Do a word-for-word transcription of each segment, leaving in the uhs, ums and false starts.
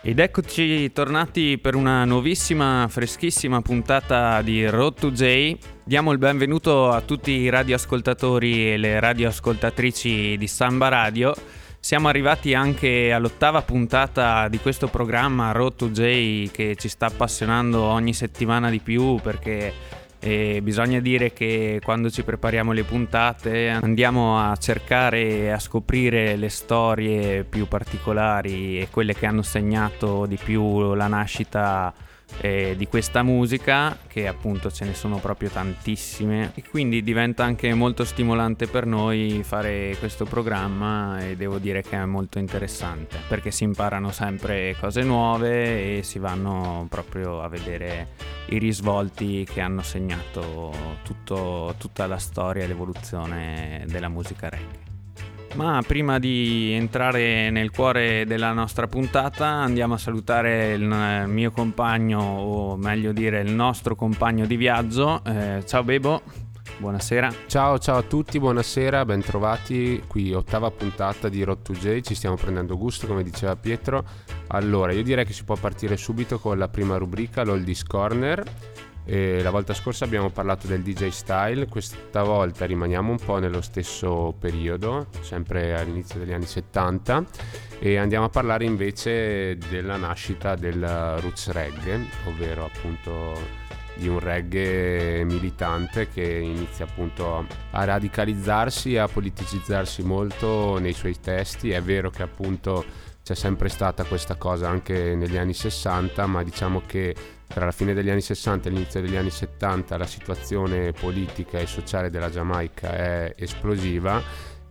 Ed eccoci tornati per una nuovissima, freschissima puntata di Road to J. Diamo il benvenuto a tutti i radioascoltatori e le radioascoltatrici di Samba Radio. Siamo arrivati anche all'ottava puntata di questo programma Road to J che ci sta appassionando ogni settimana di più, perché e bisogna dire che quando ci prepariamo le puntate andiamo a cercare e a scoprire le storie più particolari e quelle che hanno segnato di più la nascita eh, di questa musica, che appunto ce ne sono proprio tantissime, e quindi diventa anche molto stimolante per noi fare questo programma, e devo dire che è molto interessante perché si imparano sempre cose nuove e si vanno proprio a vedere i risvolti che hanno segnato tutto, tutta la storia e l'evoluzione della musica reggae. Ma prima di entrare nel cuore della nostra puntata andiamo a salutare il mio compagno, o meglio dire il nostro compagno di viaggio. Eh, ciao Bebo, buonasera. Ciao ciao a tutti, buonasera, bentrovati qui, ottava puntata di Road to J. Ci stiamo prendendo gusto, come diceva Pietro. Allora, io direi che si può partire subito con la prima rubrica, l'Oldies Corner. E la volta scorsa abbiamo parlato del D J style, questa volta rimaniamo un po' nello stesso periodo, sempre all'inizio degli anni settanta, e andiamo a parlare invece della nascita del roots reggae, ovvero appunto di un reggae militante che inizia appunto a radicalizzarsi e a politicizzarsi molto nei suoi testi. È vero che appunto c'è sempre stata questa cosa anche negli anni sessanta, ma diciamo che tra la fine degli anni sessanta e l'inizio degli anni settanta la situazione politica e sociale della Giamaica è esplosiva,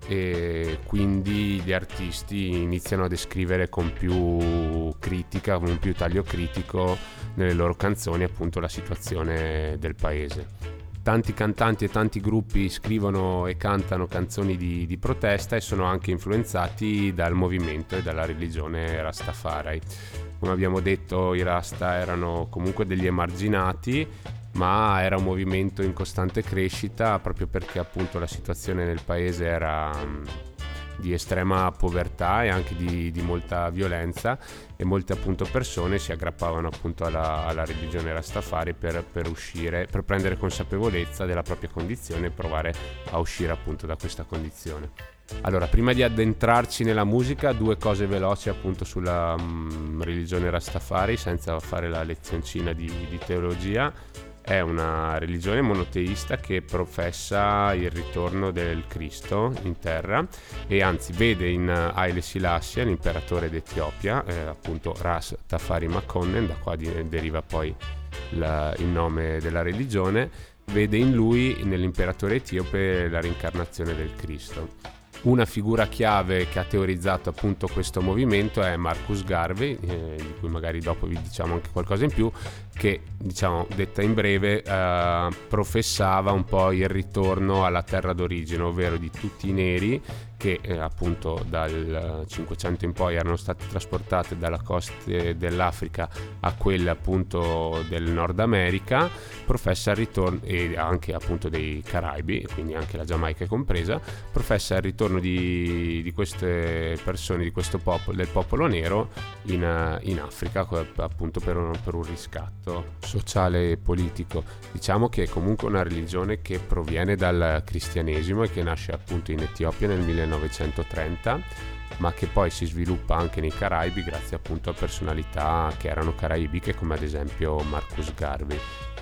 e quindi gli artisti iniziano a descrivere con più critica, con più taglio critico nelle loro canzoni appunto la situazione del paese. Tanti cantanti e tanti gruppi scrivono e cantano canzoni di, di protesta e sono anche influenzati dal movimento e dalla religione Rastafari. Come abbiamo detto, i Rasta erano comunque degli emarginati, ma era un movimento in costante crescita proprio perché appunto la situazione nel paese era di estrema povertà e anche di, di molta violenza, e molte appunto persone si aggrappavano appunto alla, alla religione Rastafari per, per uscire, per prendere consapevolezza della propria condizione e provare a uscire appunto da questa condizione. Allora, prima di addentrarci nella musica, due cose veloci appunto sulla um, religione Rastafari, senza fare la lezioncina di, di teologia. È una religione monoteista che professa il ritorno del Cristo in terra, e anzi vede in Haile Selassie, l'imperatore d'Etiopia, eh, appunto Ras Tafari Makonnen, da qua di, deriva poi la, il nome della religione, vede in lui, nell'imperatore etiope, la reincarnazione del Cristo. Una figura chiave che ha teorizzato appunto questo movimento è Marcus Garvey, eh, di cui magari dopo vi diciamo anche qualcosa in più, che, diciamo, detta in breve, eh, professava un po' il ritorno alla terra d'origine, ovvero di tutti i neri che eh, appunto dal Cinquecento in poi erano state trasportate dalla costa dell'Africa a quelle appunto del Nord America, professa il ritorno, e anche appunto dei Caraibi, quindi anche la Giamaica è compresa, professa il ritorno di, di queste persone, di questo popolo, del popolo nero in, in Africa, appunto per un, per un riscatto sociale e politico. Diciamo che è comunque una religione che proviene dal cristianesimo e che nasce appunto in Etiopia nel millenovecentotrenta, ma che poi si sviluppa anche nei Caraibi grazie appunto a personalità che erano caraibiche, come ad esempio Marcus Garvey,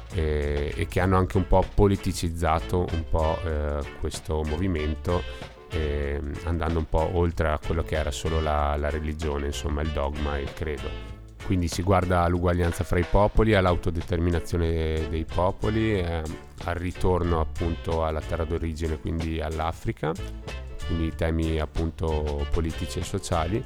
e, e che hanno anche un po' politicizzato un po' eh, questo movimento, eh, andando un po' oltre a quello che era solo la, la religione, insomma il dogma e il credo. Quindi si guarda all'uguaglianza fra i popoli, all'autodeterminazione dei popoli, eh, al ritorno appunto alla terra d'origine, quindi all'Africa, quindi temi appunto politici e sociali.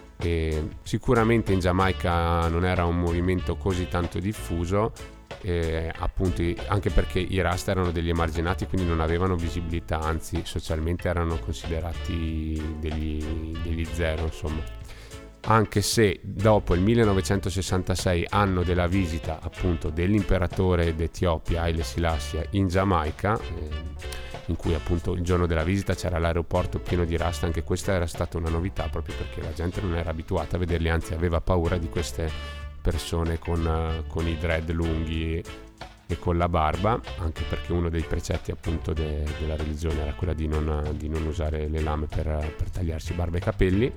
E sicuramente in Giamaica non era un movimento così tanto diffuso, eh, appunto anche perché i Rasta erano degli emarginati, quindi non avevano visibilità, anzi socialmente erano considerati degli, degli zero, insomma. Anche se dopo il millenovecentosessantasei, anno della visita appunto dell'imperatore d'Etiopia Haile Selassie in Giamaica, eh, in cui appunto il giorno della visita c'era l'aeroporto pieno di rasta. Anche questa era stata una novità, proprio perché la gente non era abituata a vederli, anzi aveva paura di queste persone con, con i dread lunghi e con la barba, anche perché uno dei precetti appunto de, della religione era quella di non, di non usare le lame per, per tagliarsi barba e capelli.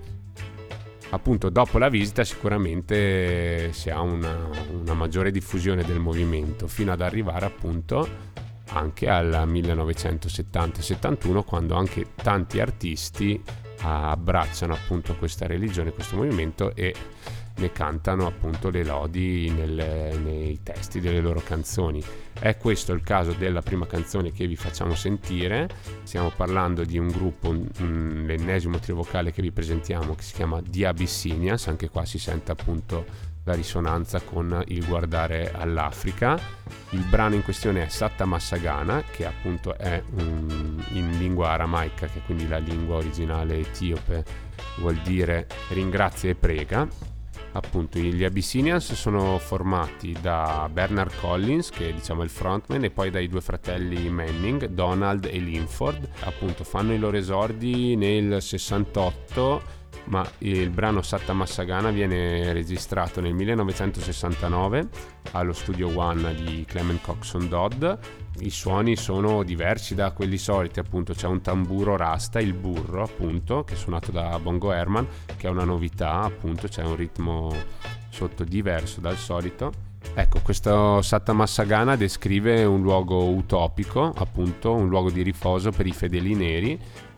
Appunto dopo la visita sicuramente si ha una, una maggiore diffusione del movimento, fino ad arrivare appunto anche al millenovecentosettanta settantuno, quando anche tanti artisti abbracciano appunto questa religione, questo movimento, e ne cantano appunto le lodi nelle, nei testi delle loro canzoni. È questo il caso della prima canzone che vi facciamo sentire. Stiamo parlando di un gruppo, un, un, l'ennesimo trio vocale che vi presentiamo, che si chiama The Abyssinians. Anche qua si sente appunto la risonanza con il guardare all'Africa. Il brano in questione è Satta Massagana, che appunto è un, in lingua aramaica, che è quindi la lingua originale etiope, vuol dire ringrazia e prega. Appunto gli Abyssinians sono formati da Bernard Collins, che è diciamo il frontman, e poi dai due fratelli Manning, Donald e Linford. Appunto fanno i loro esordi nel sessantotto, ma il brano Satta Massagana viene registrato nel millenovecentosessantanove allo Studio One di Clement Coxon Dodd. I suoni sono diversi da quelli soliti, appunto c'è un tamburo rasta, il burro appunto, che è suonato da Bongo Herman, che è una novità, appunto c'è un ritmo sotto diverso dal solito. Ecco, questo Satta Massagana descrive un luogo utopico, appunto un luogo di riposo per i fedeli neri,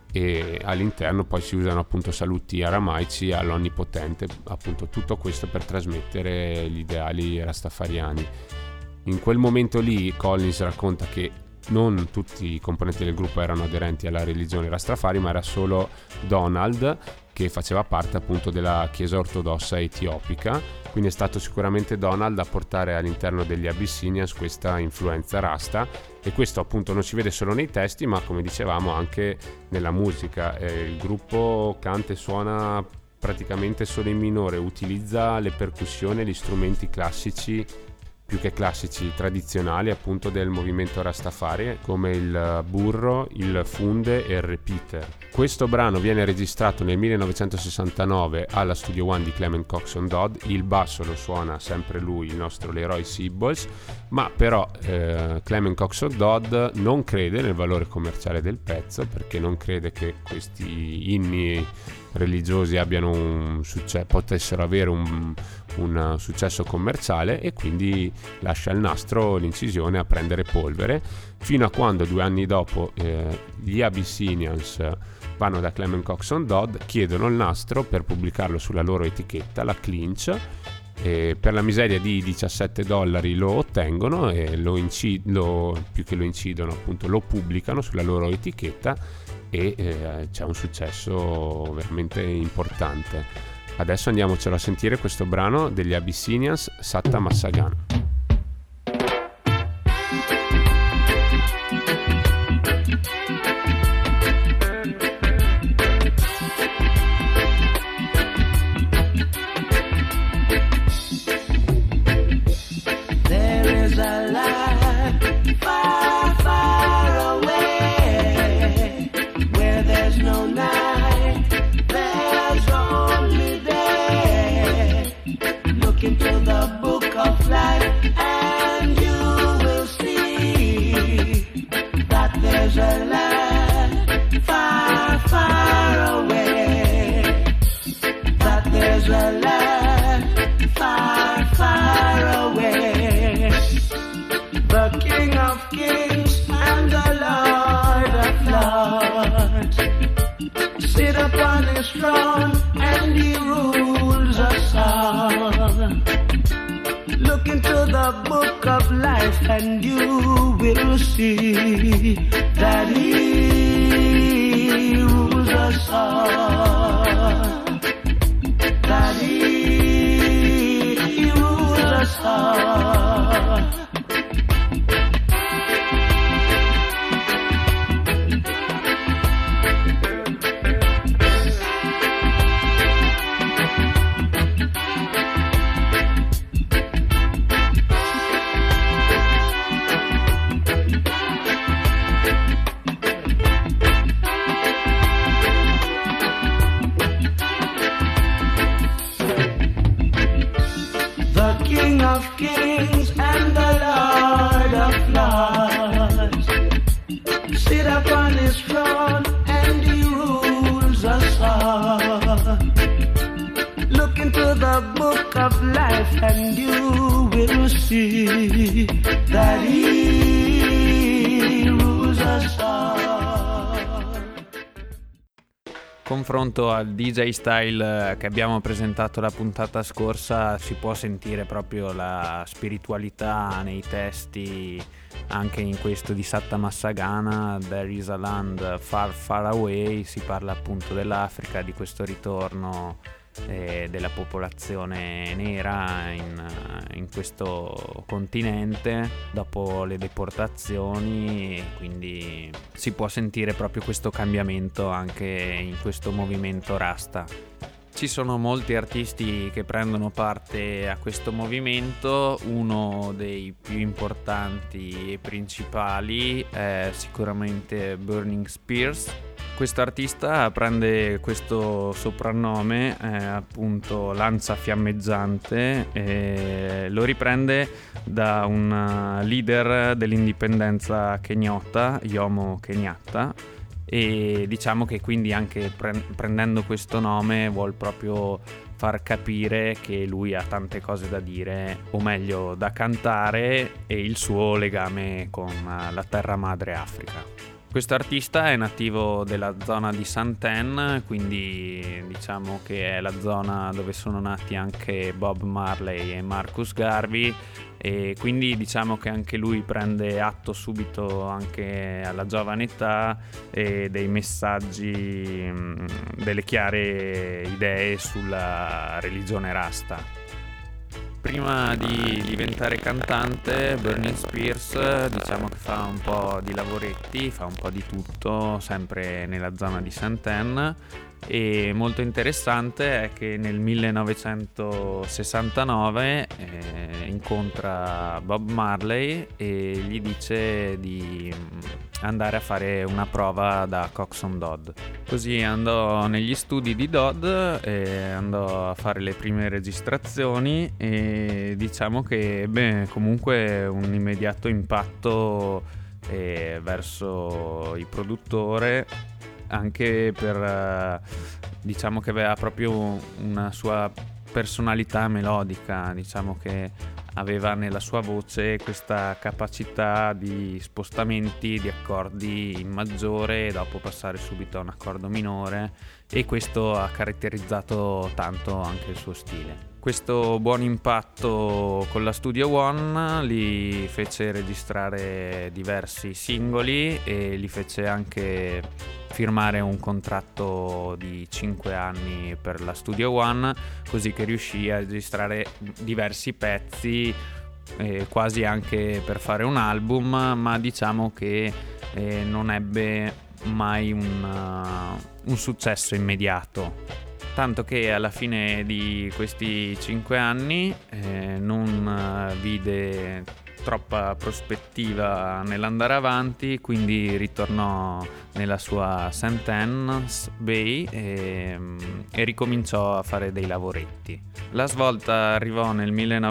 e all'interno poi si usano appunto saluti aramaici all'Onnipotente, appunto tutto questo per trasmettere gli ideali rastafariani. In quel momento lì Collins racconta che non tutti i componenti del gruppo erano aderenti alla religione Rastafari, ma era solo Donald, che faceva parte appunto della chiesa ortodossa etiopica. Quindi è stato sicuramente Donald a portare all'interno degli Abyssinians questa influenza rasta, e questo appunto non si vede solo nei testi, ma come dicevamo anche nella musica. Eh, il gruppo canta e suona praticamente solo in minore, utilizza le percussioni e gli strumenti classici, più che classici, tradizionali appunto del movimento Rastafari, come il burro, il funde e il repeater. Questo brano viene registrato nel millenovecentosessantanove alla Studio One di Clement Coxon Dodd. Il basso lo suona sempre lui, il nostro Leroy Sibbles, ma però eh, Clement Coxon Dodd non crede nel valore commerciale del pezzo, perché non crede che questi inni religiosi abbiano un successo, potessero avere un, un successo commerciale, e quindi lascia il nastro, l'incisione, a prendere polvere, fino a quando due anni dopo eh, gli Abyssinians vanno da Clement Coxon Dodd, chiedono il nastro per pubblicarlo sulla loro etichetta, la Clinch, e per la miseria di diciassette dollari lo ottengono, e lo, incid- lo più che lo incidono appunto lo pubblicano sulla loro etichetta, e eh, c'è un successo veramente importante. Adesso andiamocelo a sentire questo brano degli Abyssinians, Satta Massagana. And you will see that he rules us all, that he rules us all. King of kings and the Lord of lords, sit upon his throne and he rules us all. Look into the book of life and you will see that he rules us all. Confronto al D J style che abbiamo presentato la puntata scorsa, si può sentire proprio la spiritualità nei testi, anche in questo di Satta Massagana, There is a land far far away. Si parla appunto dell'Africa, di questo ritorno eh, della popolazione nera in, in questo continente dopo le deportazioni, e quindi si può sentire proprio questo cambiamento anche in questo movimento Rasta. Ci sono molti artisti che prendono parte a questo movimento. Uno dei più importanti e principali è sicuramente Burning Spears. Questo artista prende questo soprannome, eh, appunto Lancia Fiammeggiante, e lo riprende da un leader dell'indipendenza kenyota, Jomo Kenyatta, e diciamo che quindi anche pre- prendendo questo nome vuol proprio far capire che lui ha tante cose da dire, o meglio da cantare, e il suo legame con la terra madre Africa. Questo artista è nativo della zona di Santen, quindi diciamo che è la zona dove sono nati anche Bob Marley e Marcus Garvey, e quindi diciamo che anche lui prende atto subito, anche alla giovane età, e dei messaggi, delle chiare idee sulla religione Rasta. Prima di diventare cantante, Burning Spears diciamo che fa un po' di lavoretti, fa un po' di tutto, sempre nella zona di Santen, e molto interessante è che nel millenovecentosessantanove eh, incontra Bob Marley e gli dice di andare a fare una prova da Coxsone Dodd. Così andò negli studi di Dodd e andò a fare le prime registrazioni, e diciamo che ebbe comunque un immediato impatto eh, verso il produttore, anche per diciamo che aveva proprio una sua personalità melodica, diciamo che aveva nella sua voce questa capacità di spostamenti di accordi in maggiore e dopo passare subito a un accordo minore, e questo ha caratterizzato tanto anche il suo stile. Questo buon impatto con la Studio One li fece registrare diversi singoli e li fece anche firmare un contratto di cinque anni per la Studio One, così che riuscì a registrare diversi pezzi, eh, quasi anche per fare un album, ma diciamo che eh, non ebbe mai un, uh, un successo immediato. Tanto che alla fine di questi cinque anni eh, non vide troppa prospettiva nell'andare avanti, quindi ritornò nella sua Santen's Bay e, e ricominciò a fare dei lavoretti. La svolta arrivò nel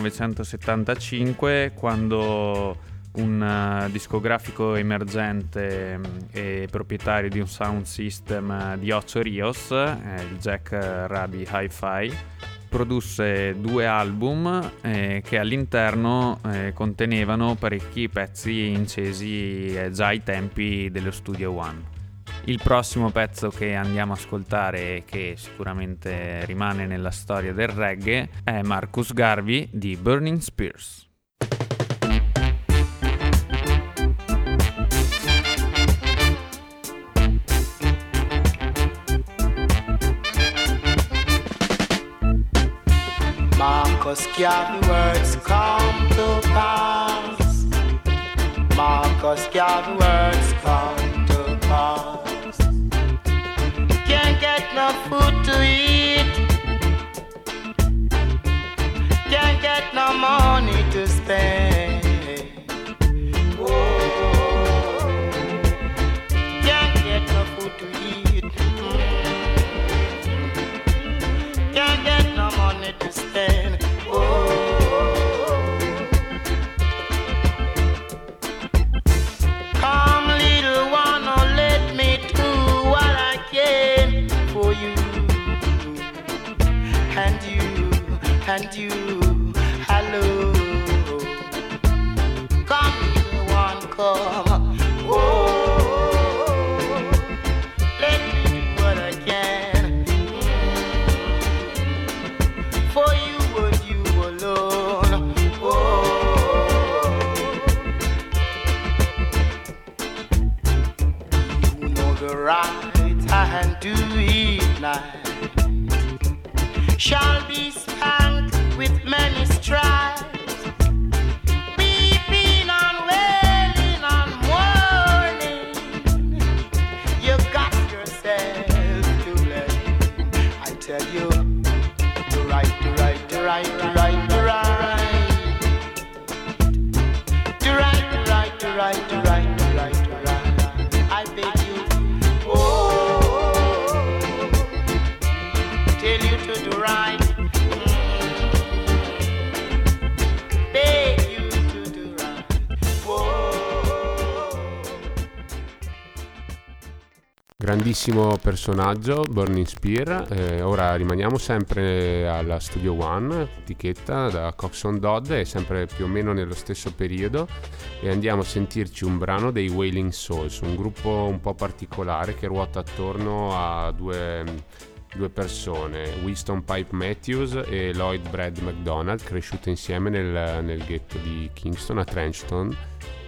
millenovecentosettantacinque, quando un uh, discografico emergente e proprietario di un sound system di Ocho Rios, eh, il Jack Rabi Hi-Fi, produsse due album eh, che all'interno eh, contenevano parecchi pezzi incesi eh, già ai tempi dello Studio One. Il prossimo pezzo che andiamo a ascoltare, che sicuramente rimane nella storia del reggae, è Marcus Garvey di Burning Spears. Marcus Garvey words come to pass. Marcus Garvey words come to pass. Can't get no food to eat. Can't get no money to spend. Oh, can't get no food to eat. Can't get no money to spend. Oh, you. Hello, come, little one, come. Oh, let me do what I can for you and you alone. Oh, you know the right hand to it night shall be spanked with many stripes, weeping and wailing and mourning. You got yourself to blame. I tell you, the right, the right, the right, the right, the right, the right, the right, the right, the right, the right, the right. I beg you, oh, tell you to do right. Beg you to do right. Whoa. Grandissimo personaggio, Burning Spear. Eh, ora rimaniamo sempre alla Studio One, etichetta da Coxsone Dodd, è sempre più o meno nello stesso periodo, e andiamo a sentirci un brano dei Wailing Souls, un gruppo un po' particolare che ruota attorno a due, due persone, Winston Pipe Matthews e Lloyd Brad McDonald, cresciute insieme nel, nel ghetto di Kingston a Trenchton,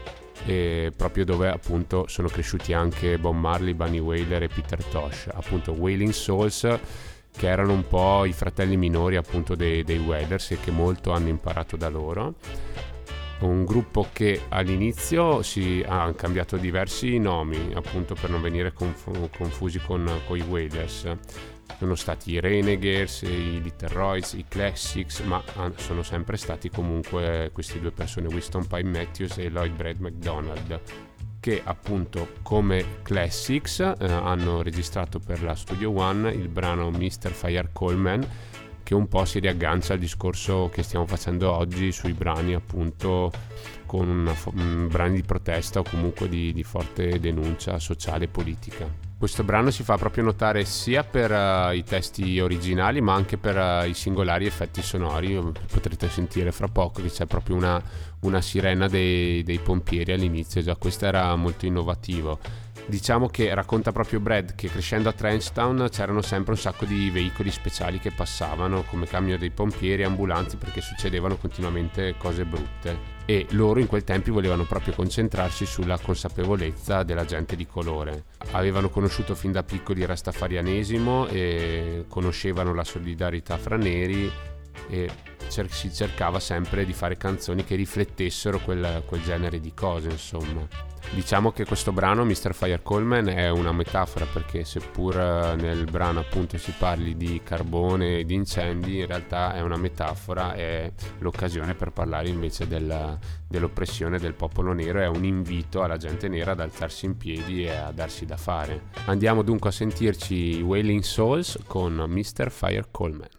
e proprio dove appunto sono cresciuti anche Bob Marley, Bunny Wailer e Peter Tosh, appunto Wailing Souls, che erano un po' i fratelli minori appunto dei, dei Wailers e che molto hanno imparato da loro. Un gruppo che all'inizio si ha cambiato diversi nomi appunto per non venire conf- confusi con, con i Wailers. Sono stati i Renegades, i Little Royals, i Classics, ma sono sempre stati comunque queste due persone, Winston Pipe Matthews e Lloyd Brad McDonald, che appunto come Classics eh, hanno registrato per la Studio One il brano mister Fire Coleman, che un po' si riaggancia al discorso che stiamo facendo oggi sui brani appunto con una, un brani di protesta o comunque di, di forte denuncia sociale e politica. Questo brano si fa proprio notare sia per uh, i testi originali ma anche per uh, i singolari effetti sonori. Potrete sentire fra poco che c'è proprio una, una sirena dei, dei pompieri all'inizio, già questo era molto innovativo. Diciamo che racconta proprio Brad che crescendo a Trenchtown c'erano sempre un sacco di veicoli speciali che passavano come camion dei pompieri, ambulanze, perché succedevano continuamente cose brutte e loro in quel tempo volevano proprio concentrarsi sulla consapevolezza della gente di colore. Avevano conosciuto fin da piccoli il rastafarianesimo e conoscevano la solidarietà fra neri e cer- si cercava sempre di fare canzoni che riflettessero quel, quel genere di cose, insomma. Diciamo che questo brano, mister Fire Coleman, è una metafora, perché seppur nel brano appunto si parli di carbone e di incendi, in realtà è una metafora, è l'occasione per parlare invece della, dell'oppressione del popolo nero, è un invito alla gente nera ad alzarsi in piedi e a darsi da fare. Andiamo dunque a sentirci Wailing Souls con mister Fire Coleman.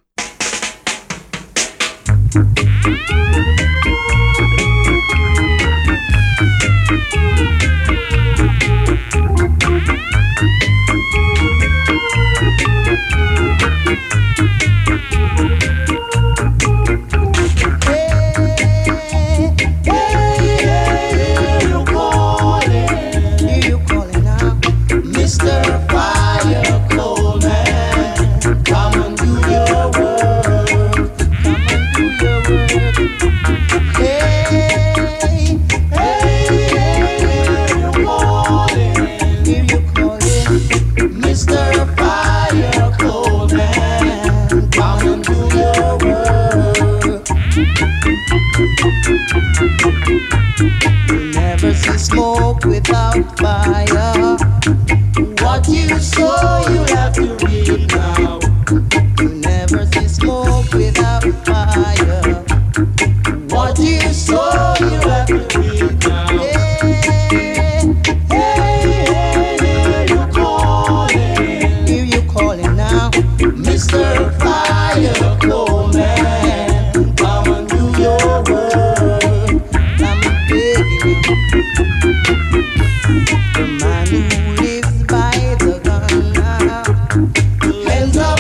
Smoke without fire. What you sow, you have to reap now. You never see smoke without fire. What you sow, you have to reap now. Hey, hey, hey, hey, you calling? Here you calling now, mister Fire Coleman. Come and do your work. I'm begging you. The man who lives by the gun now ends up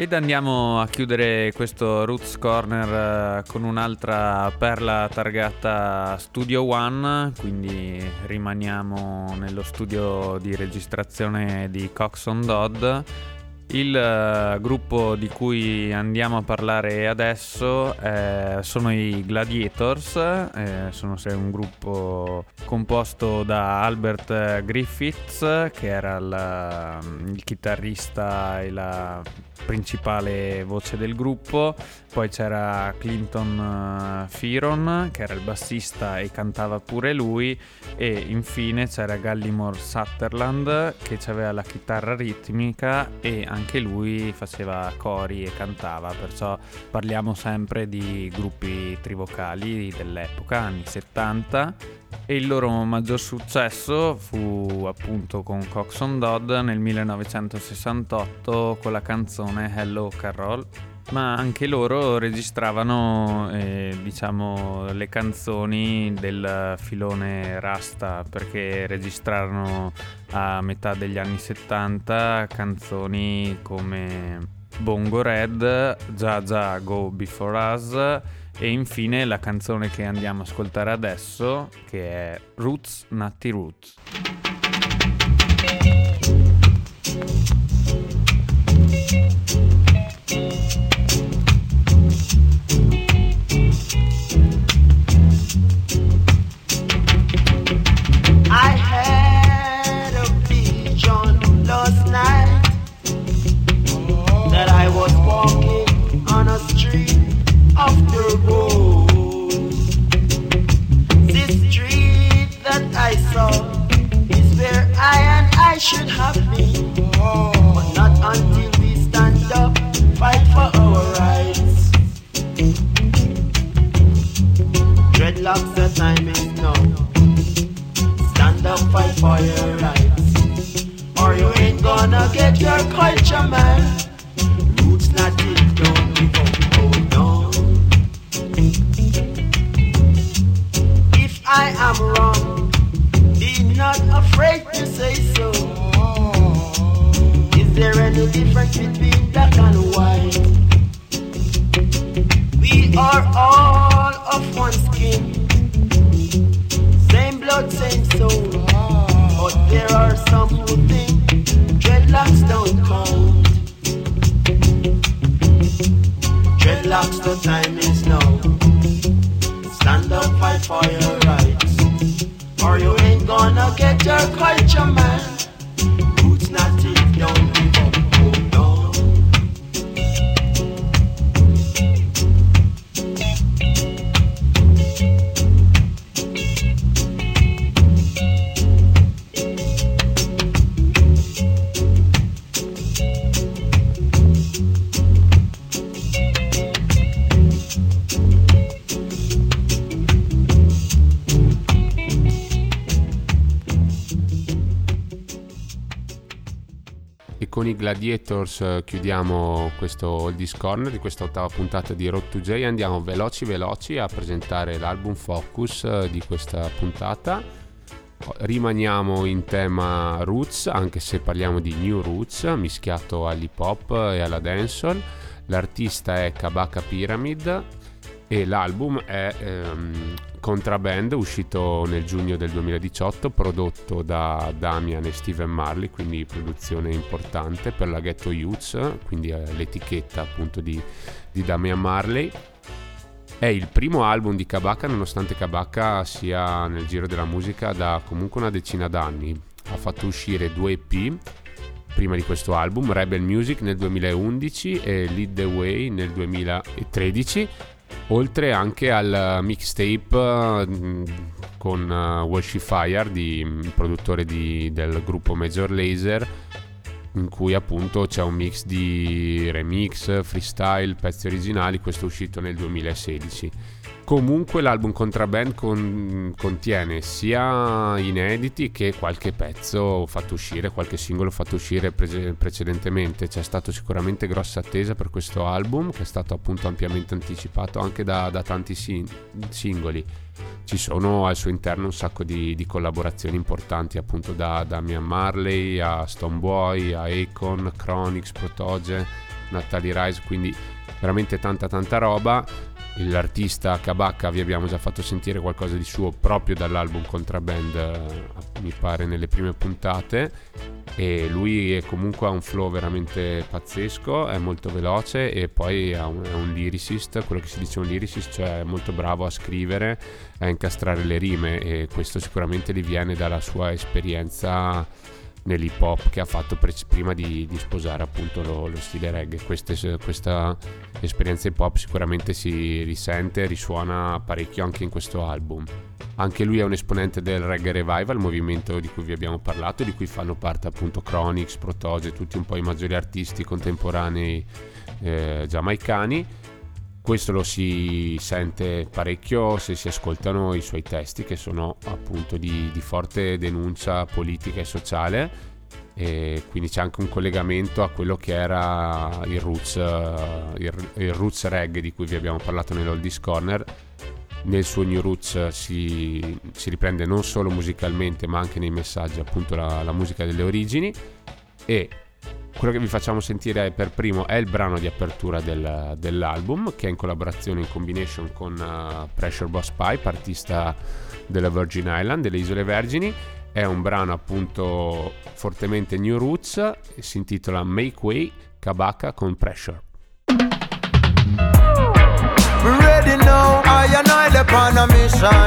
Ed andiamo a chiudere questo Roots Corner con un'altra perla targata Studio One, quindi rimaniamo nello studio di registrazione di Coxsone Dodd. Il uh, gruppo di cui andiamo a parlare adesso eh, sono i Gladiators, eh, sono un gruppo composto da Albert Griffiths, che era la, il chitarrista e la principale voce del gruppo. Poi c'era Clinton Fearon, che era il bassista e cantava pure lui, e infine c'era Gallimore Sutherland, che aveva la chitarra ritmica e anche lui faceva cori e cantava, perciò parliamo sempre di gruppi trivocali dell'epoca, anni settanta. E il loro maggior successo fu appunto con Coxsone Dodd nel millenovecentosessantotto con la canzone Hello Carol, ma anche loro registravano eh, diciamo le canzoni del filone Rasta, perché registrarono a metà degli anni settanta canzoni come Bongo Red, Jah Jah Go Before Us e infine la canzone che andiamo a ascoltare adesso, che è Roots Nutty Roots. I had a vision last night that I was walking on a street of the road. This street that I saw is where I and I should have been, but not until we stand up, fight for our rights. Dreadlocks, the time is now. Stand up, fight for your rights, or you ain't gonna get your culture, man. Roots not it, don't give up, hold on. If I am wrong, be not afraid to say so. Is there any difference between black and white? We are all of one skin, same blood, same soul. But there are some who think dreadlocks don't count. Dreadlocks, the time is now. Stand up, fight for your rights, or you ain't gonna get your culture, man. Roots not it, don't give up, hold on. Con i Gladiators chiudiamo questo Oldies Corner di questa ottava puntata di Road to J e andiamo veloci veloci a presentare l'album Focus di questa puntata. Rimaniamo in tema roots, anche se parliamo di new roots mischiato all'hip hop e alla dancehall. L'artista è Kabaka Pyramid e l'album è ehm, Contraband, uscito nel giugno del duemiladiciotto, prodotto da Damian e Steven Marley, quindi produzione importante per la Ghetto Youths, quindi è l'etichetta appunto di, di Damian Marley. È il primo album di Kabaka, nonostante Kabaka sia nel giro della musica da comunque una decina d'anni. Ha fatto uscire due E P prima di questo album, Rebel Music nel duemilaundici e Lead the Way nel duemilatredici, oltre anche al mixtape uh, con uh, Walshy Fire, di, produttore di, del gruppo Major Lazer, in cui appunto c'è un mix di remix, freestyle, pezzi originali. Questo è uscito nel duemilasedici. Comunque l'album Contraband con, contiene sia inediti che qualche pezzo fatto uscire, qualche singolo fatto uscire pre- precedentemente. C'è stato sicuramente grossa attesa per questo album, che è stato appunto ampiamente anticipato anche da, da tanti sin- singoli. Ci sono al suo interno un sacco di, di collaborazioni importanti, appunto da Damian Marley a Stonebwoy, a Akon, Chronix, Protoje, Natalie Rice, quindi veramente tanta tanta roba. L'artista Kabaka vi abbiamo già fatto sentire qualcosa di suo proprio dall'album Contraband, eh, mi pare nelle prime puntate, e lui è comunque ha un flow veramente pazzesco, è molto veloce e poi è un, è un lyricist, quello che si dice un lyricist, cioè è molto bravo a scrivere, a incastrare le rime, e questo sicuramente gli viene dalla sua esperienza nell'hip hop che ha fatto pre- prima di, di sposare appunto lo, lo stile reggae. Queste, questa esperienza hip hop sicuramente si risente, risuona parecchio anche in questo album. Anche lui è un esponente del Reggae Revival, movimento di cui vi abbiamo parlato, di cui fanno parte appunto Chronix, Protoje, tutti un po' i maggiori artisti contemporanei eh, giamaicani. Questo lo si sente parecchio se si ascoltano i suoi testi, che sono appunto di, di forte denuncia politica e sociale, e quindi c'è anche un collegamento a quello che era il roots, il, il roots reggae di cui vi abbiamo parlato nell'Oldies Corner. Nel suo New Roots si, si riprende non solo musicalmente ma anche nei messaggi appunto la, la musica delle origini, e quello che vi facciamo sentire per primo è il brano di apertura del, dell'album, che è in collaborazione, in combination con uh, Pressure Boss Pipe, artista della Virgin Island, delle Isole Vergini. È un brano appunto fortemente New Roots e si intitola Make Way, Kabaka con Pressure. Ready now, I and I upon a mission.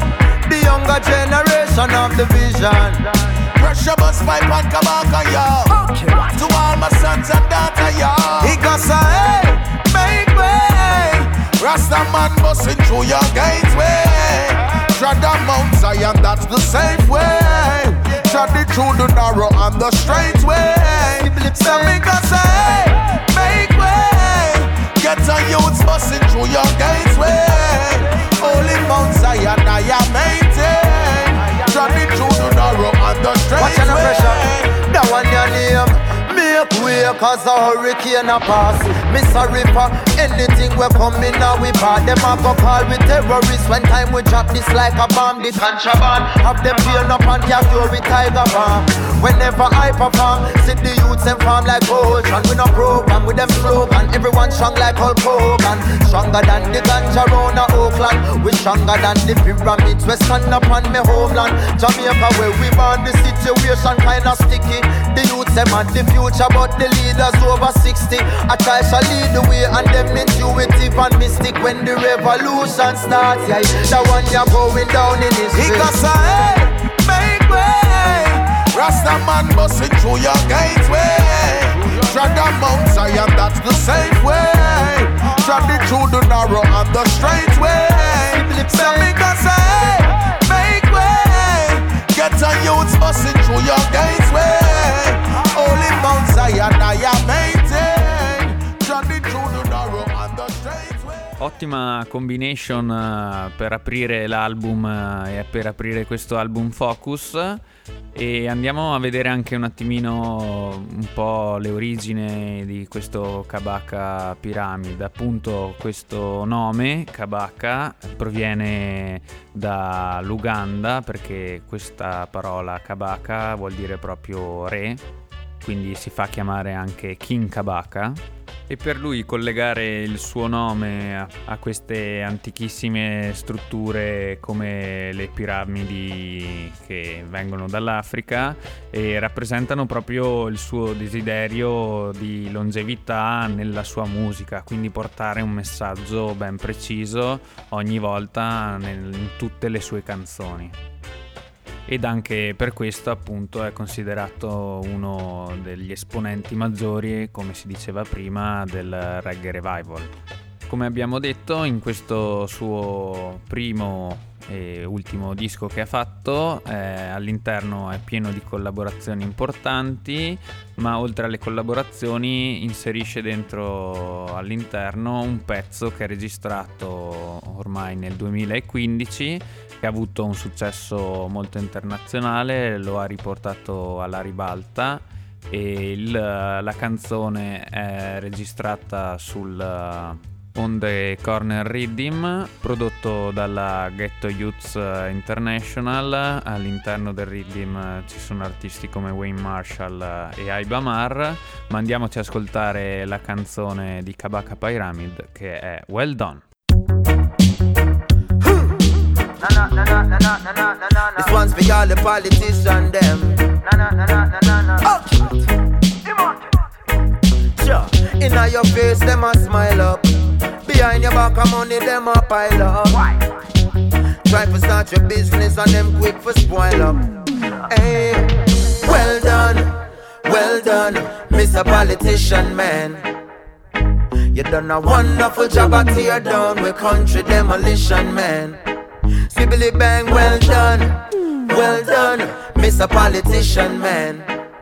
The younger generation of the vision. Pressure bus pipe and Kabaka, yo. Okay. To all my sons and daughters, yo. He got say, hey, make way. Rasta man busting through your gateway. Tread on Mount Zion, that's the safe way. Tread it through the narrow and the straight way. So me got say, hey, make way. Get a youths busting through your gateway. Holy Mount Zion, I am maintain. Tread it through the narrow and the straight way. Watch the pressure. That one your name. Make way, cause a hurricane a pass. Me sorry for anything we coming now we bad. Them a go call we terrorists when time we drop this like a bomb. The contraband have them peel up and capture with tiger bomb. Whenever I perform, see the youths and farm like ocean. We no program with them slogan. Everyone strong like Hulk Hogan. Stronger than the ganja round of Oakland. We stronger than the pyramids. We stand up on me homeland. Jamaica where we born, the situation kinda sticky. The youths them at the future, but the leaders over sixty. I try to lead the way and them intuitive and mystic. When the revolution starts, yeah, the one you're going down in history. He got say, hey, make way. Rasta man busting through your gateway. Tread on Mount Zion, that's the safe way. Tread it through the narrow and the straight way. So me got say, hey, make way. Get a youths busting through your gateway. Holy Mount Zion, I am maintain. Tread it through the narrow and the straight way. Ottima combination uh, per aprire l'album uh, e per aprire questo album Focus. E andiamo a vedere anche un attimino un po' le origini di questo Kabaka Pyramid. Appunto questo nome Kabaka proviene dall'Uganda, perché questa parola Kabaka vuol dire proprio re, quindi si fa chiamare anche King Kabaka. E per lui collegare il suo nome a, a queste antichissime strutture come le piramidi che vengono dall'Africa e rappresentano proprio il suo desiderio di longevità nella sua musica, quindi portare un messaggio ben preciso ogni volta nel, in tutte le sue canzoni. Ed anche per questo appunto è considerato uno degli esponenti maggiori, come si diceva prima, del Reggae Revival. Come abbiamo detto, in questo suo primo e ultimo disco che ha fatto, eh, all'interno è pieno di collaborazioni importanti, ma oltre alle collaborazioni inserisce dentro all'interno un pezzo che è registrato ormai nel duemilaquindici, che ha avuto un successo molto internazionale, lo ha riportato alla ribalta, e il, la canzone è registrata sul on the Corner Rhythm, prodotto dalla Ghetto Youths International. All'interno del Rhythm ci sono artisti come Wayne Marshall e Aiba Mar, ma andiamoci ad ascoltare la canzone di Kabaka Pyramid che è Well Done. Na, na, na, na, na, na, na, na, na. This one's for all the politicians, them. Na, na, na, na, na, na. Oh. Sure. Inna your face, them a smile up. Behind your back, of money, them a pile up. Why? Try to start your business and them quick for spoil up. Hey, well done, well done, Mister Politician Man. You done a wonderful job at tear down with country demolition, man. Sibbly bang, well done, well done, Mister Politician Man.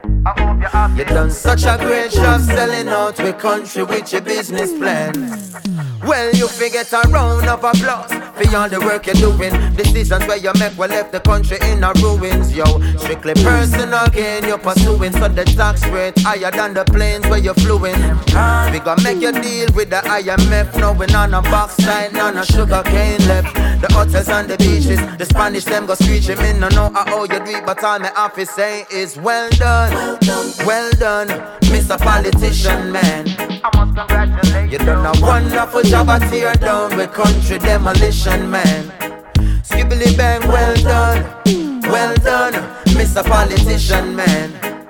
You done such a great job selling out with country with your business plan. Well, you forget a round of applause for all the work you're doing. Decisions where you make will left the country in a ruins, yo. Strictly personal gain you're pursuing, so the tax rate higher than the planes where you're fluing. We gonna make you deal with the I M F, knowing on a backside, none of sugar cane left. The hotels and the beaches, the Spanish them go screeching. Me no know how you do it, but all my office say is well done, well done, Mister Politician Man. I must congratulate you. You done a wonderful job at tear down with country demolition, man. Skibbly bang, well done, well done, Mister Politician Man.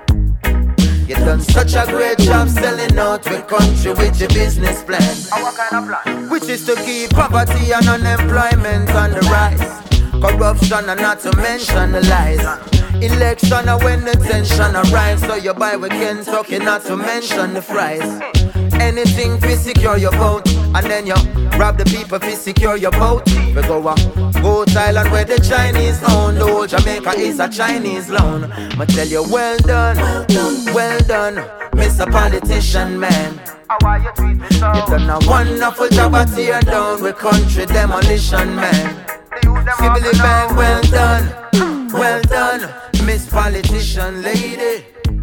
You done such a great job selling out with country with your business plan. What kind of plan? Which is to keep poverty and unemployment on the rise. Corruption and not to mention the lies. Election and when the tension arrives, so you buy with Kentucky, not to mention the fries. Anything to secure your vote, and then you rob the people to secure your vote. We go up, go to Thailand where the Chinese own. The whole Jamaica is a Chinese loan. I tell you, well done, well done, Mister Politician Man. You done a wonderful job at tear down with country demolition, man. Sibbly bang, well done, well done, Miss Politician Lady.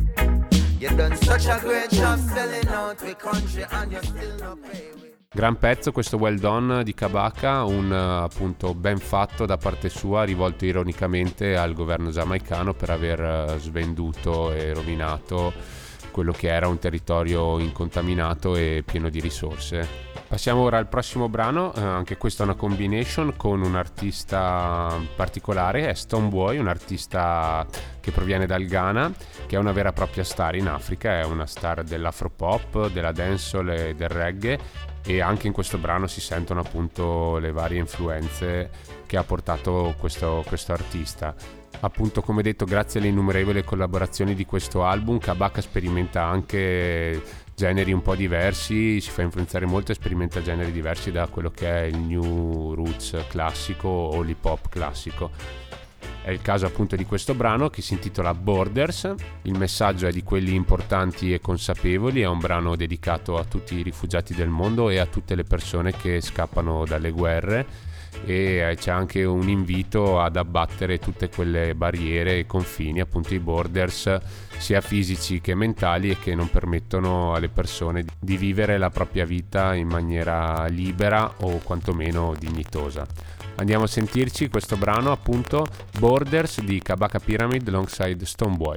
You done such a great job selling out with country and you still not pay. Gran pezzo questo Well Done di Kabaka, un appunto ben fatto da parte sua, rivolto ironicamente al governo giamaicano per aver svenduto e rovinato quello che era un territorio incontaminato e pieno di risorse. Passiamo ora al prossimo brano, eh, anche questa è una combination con un artista particolare, è Stonebwoy, un artista che proviene dal Ghana, che è una vera e propria star in Africa, è una star dell'afropop, della dancehall e del reggae, e anche in questo brano si sentono appunto le varie influenze che ha portato questo, questo artista. Appunto, come detto, grazie alle innumerevoli collaborazioni di questo album, Kabaka sperimenta anche generi un po' diversi, si fa influenzare molto e sperimenta generi diversi da quello che è il new roots classico o l'hip hop classico. È il caso appunto di questo brano che si intitola Borders. Il messaggio è di quelli importanti e consapevoli, è un brano dedicato a tutti i rifugiati del mondo e a tutte le persone che scappano dalle guerre, e c'è anche un invito ad abbattere tutte quelle barriere e confini, appunto i borders sia fisici che mentali, e che non permettono alle persone di vivere la propria vita in maniera libera o quantomeno dignitosa. Andiamo a sentirci questo brano, appunto Borders di Kabaka Pyramid alongside Stonebwoy.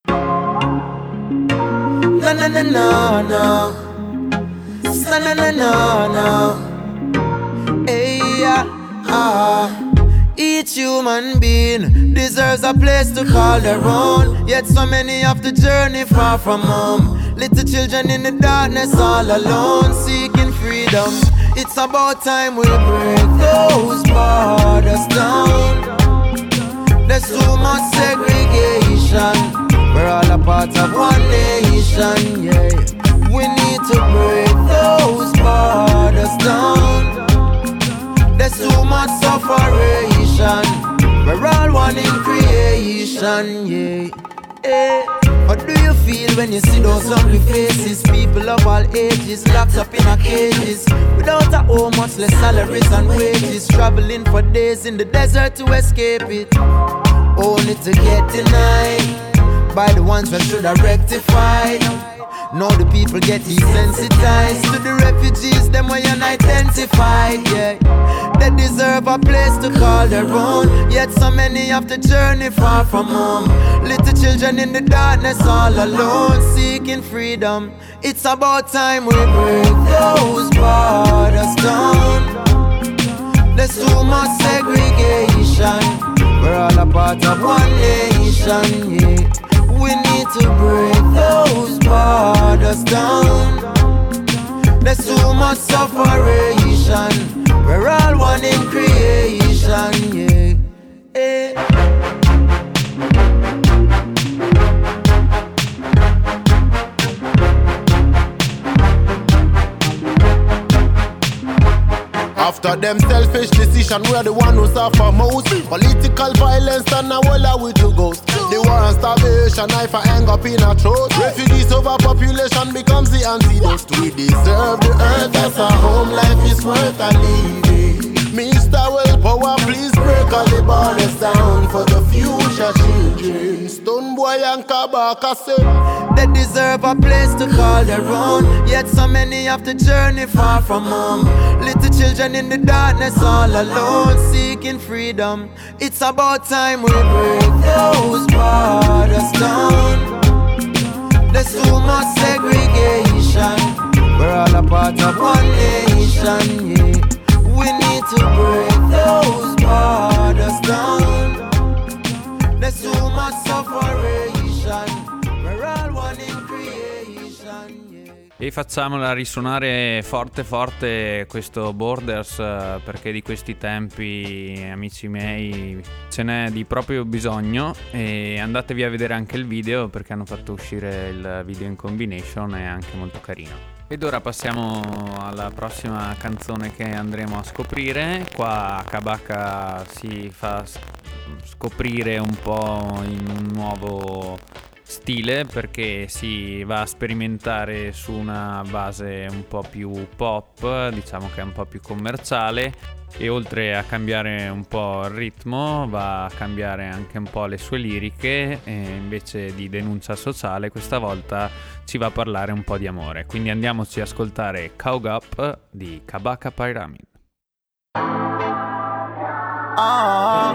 No, no, no, no, no. No, no, no, no, no. Hey, yeah, ah. Each human being deserves a place to call their own. Yet so many have to journey far from home. Little children in the darkness all alone, seeking freedom. It's about time we break those borders down. There's too much segregation. We're all a part of one nation, yeah. We need to break those borders down. There's too much separation. We're all one in creation, yeah. Hey. What do you feel when you see those hungry faces? People of all ages locked up in a cages, without a home, much less salaries and wages, traveling for days in the desert to escape it, only to get denied. by the ones that should have rectified. Now the people get desensitized to the refugees, them way unidentified, yeah. They deserve a place to call their own, yet so many have to journey far from home. Little children in the darkness all alone, seeking freedom. It's about time we break those borders down. There's too much segregation, we're all a part of one nation, yeah. We need to break those borders down. There's too much separation, we're all one in creation, yeah, yeah. After them selfish decision, we're the one who suffer most. Political violence and now all are we to ghost. The war and starvation, knife and hang up in our throat. Refugees overpopulation becomes the antidote. We deserve the earth as a home, life is worth a living. Mister Willpower, please break all the borders down for the future children. Stone Boy and Kabaka say they deserve a place to call their own, yet so many have to journey far from home. Little children in the darkness all alone, seeking freedom. It's about time we break those borders down. There's too much segregation, we're all a part of one nation, yeah. We need to break those borders down. There's too much separation, we're all one in creation, yeah. E facciamola risuonare forte forte questo Borders, perché di questi tempi, amici miei, ce n'è di proprio bisogno. E andatevi a vedere anche il video, perché hanno fatto uscire il video in combination, è anche molto carino. Ed ora passiamo alla prossima canzone che andremo a scoprire. Qua Kabaka si fa scoprire un po' in un nuovo stile, perché si va a sperimentare su una base un po' più pop, diciamo che è un po' più commerciale, e oltre a cambiare un po' il ritmo va a cambiare anche un po' le sue liriche, e invece di denuncia sociale questa volta ci va a parlare un po' di amore. Quindi andiamoci a ascoltare Caught Up di Kabaka Pyramid. Ah,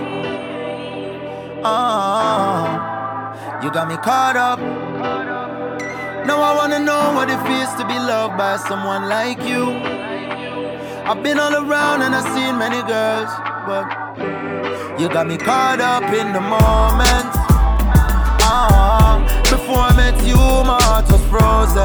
ah, you got me caught up. Now I wanna know what it feels to be loved by someone like you. I've been all around and I've seen many girls, but you got me caught up in the moment. Ah, before I met you, my heart was frozen.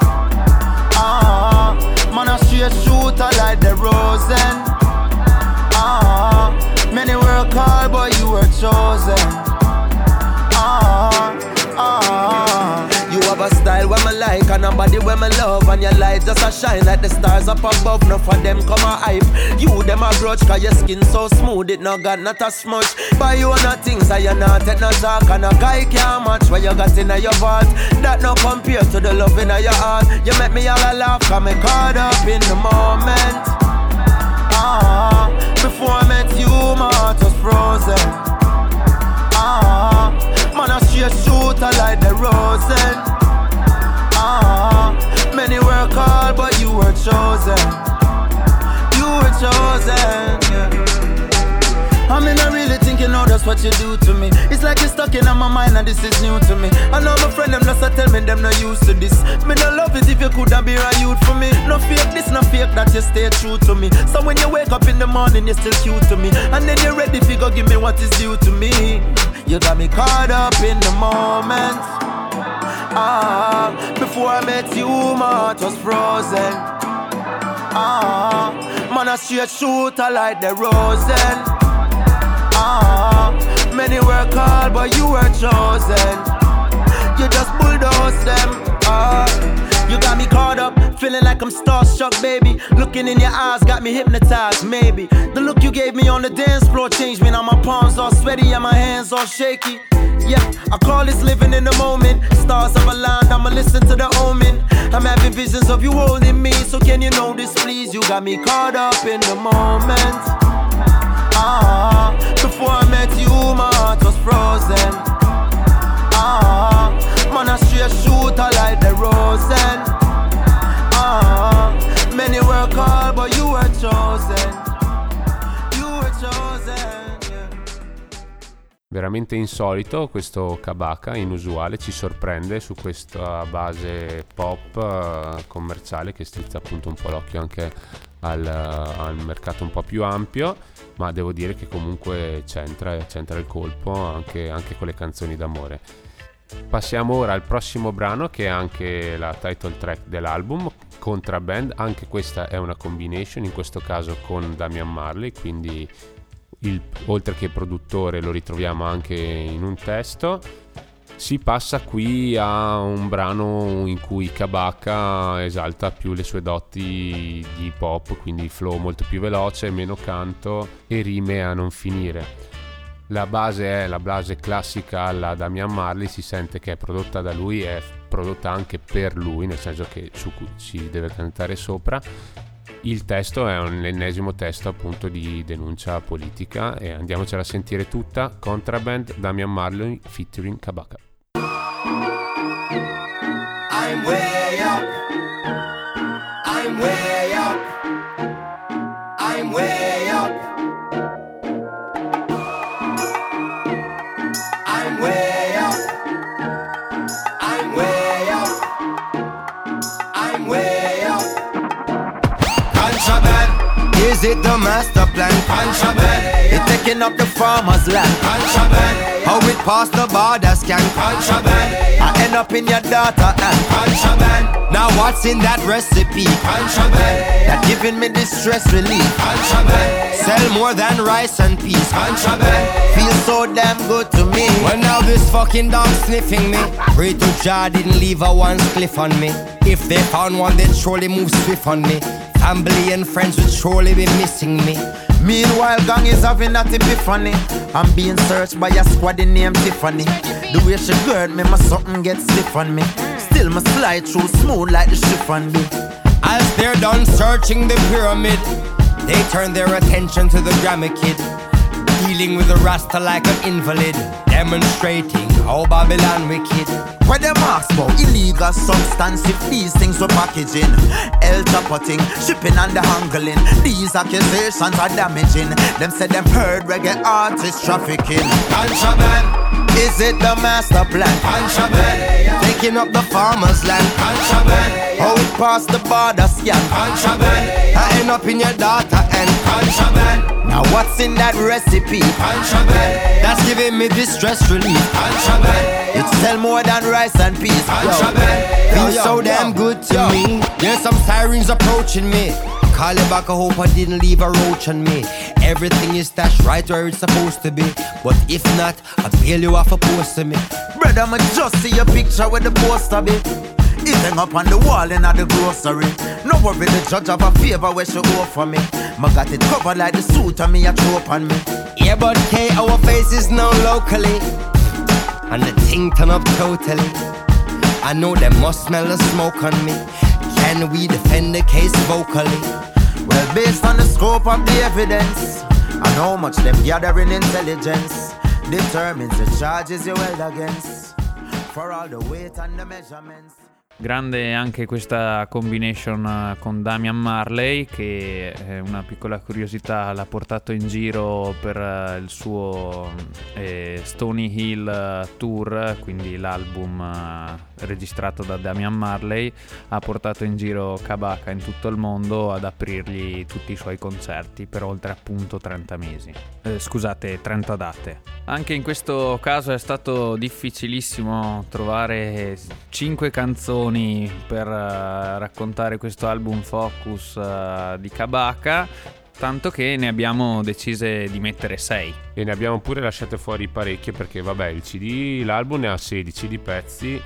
Ah, man, I straight shooter like the Rosen. Ah, many were called, but you were chosen. Ah, ah. You have a style where me like and a body where me love, and your light just a shine like the stars up above. Enough for them come a hype. You them a grudge cause your skin so smooth it no got not a smudge. Buy you no things and you not take no talk, and a guy can't match what you got in your vault. That no compare to the love in your heart. You make me all a laugh cause me caught up in the moment. Ah, before I met you my heart was frozen. Ah, man I straight shooter like the Rosen. Ah, many were called but you were chosen. You were chosen, yeah. I mean I really think you know that's what you do to me. It's like you're stuck in my mind and this is new to me. I know my friend them just a tell me them not used to this. Me no love it if you coulda be a youth for me. No fake this, no fake that, you stay true to me. So when you wake up in the morning you're still cute to me, and then you're ready to go give me what is due to me. You got me caught up in the moment. Ah, before I met you my heart was frozen. Ah, man a straight shooter like the Rosen. Ah, many were called but you were chosen. You just bulldoze them. Ah, you got me caught up, feeling like I'm starstruck, baby. Looking in your eyes got me hypnotized, maybe. The look you gave me on the dance floor changed me. Now my palms all sweaty and my hands all shaky. Yeah, I call this living in the moment. Stars have aligned, I'ma listen to the omen. I'm having visions of you holding me, so can you notice please? You got me caught up in the moment. Ah, before I met you my heart was frozen. Ah, veramente insolito questo Kabaka, inusuale, ci sorprende su questa base pop uh, commerciale che strizza appunto un po' l'occhio anche al, uh, al mercato un po' più ampio, ma devo dire che comunque c'entra, c'entra il colpo anche, anche con le canzoni d'amore. Passiamo ora al prossimo brano, che è anche la title track dell'album, Contraband. Anche questa è una combination, in questo caso con Damian Marley, quindi il, oltre che produttore lo ritroviamo anche in un testo. Si passa qui a un brano in cui Kabaka esalta più le sue doti di hip hop, quindi flow molto più veloce, meno canto e rime a non finire. La base è la base classica alla Damian Marley, si sente che è prodotta da lui, è prodotta anche per lui, nel senso che su cui si deve cantare sopra. Il testo è un ennesimo testo appunto di denuncia politica, e andiamocela a sentire tutta. Contraband, Damian Marley featuring Kabaka. I'm way up. I'm way up. I'm way up. I'm way up. I'm way up. I'm way up. Contraband. Is it the master plan? Contraband. It's taking up the farmer's land. Contraband. How it pass the border scan. Contraband. I end up in your daughter and contraband. Now what's in that recipe? Contraband. That giving me distress relief. Contraband. Sell more than rice and peas. Contraband. Feels so damn good to me. Well now this fucking dog sniffing me. Pray to Jah didn't leave a one spliff on me. If they found one they'd surely move swift on me. Family and friends would surely be missing me. Meanwhile, gang is having that epiphany. I'm being searched by a squad named Tiffany. The way she gird me, my something gets stiff on me. Still, my slide through smooth like the chiffon be. As they're done searching the pyramid, they turn their attention to the Grammy Kid, dealing with the Rasta like an invalid, demonstrating how Babylon wicked. Where them ask about illegal substance, if these things were packaging, El Chapoting, shipping and the handling. These accusations are damaging. Them said them heard reggae artists trafficking. Contraband. Is it the master plan? Contraband. Taking up the farmer's land. Contraband. How it past the border scan. Contraband. I end up in your daughter and contraband. Now what's in that recipe? Contraband. That's giving me distress relief. Contraband. It's sell more than rice and peas. Contraband. Feels so damn good to yo. me. There's some sirens approaching me. Call it back, I hope I didn't leave a roach on me. Everything is stashed right where it's supposed to be. But if not, I'll bail you off a post to me. Brother, I'ma just see your picture with the poster be. It hang up on the wall in the grocery. No worry, the judge have a favor where she offer me. Ma got it covered like the suit on me, a trope on me. Yeah, but K, our face is known locally, and the thing turn up totally. I know they must smell the smoke on me. Can we defend the case vocally? Well, based on the scope of the evidence and how much them gathering intelligence determines the charges you held against. For all the weight and the measurements. Grande anche questa combination con Damian Marley, che è una piccola curiosità, l'ha portato in giro per il suo eh, Stony Hill Tour, quindi l'album eh, registrato da Damian Marley. Ha portato in giro Kabaka in tutto il mondo ad aprirgli tutti i suoi concerti per oltre appunto trenta mesi, eh, scusate trenta date. Anche in questo caso è stato difficilissimo trovare cinque canzoni per uh, raccontare questo album Focus uh, di Kabaka, tanto che ne abbiamo decise di mettere sei. E ne abbiamo pure lasciate fuori parecchie, perché vabbè, il C D, l'album ne ha sedici di pezzi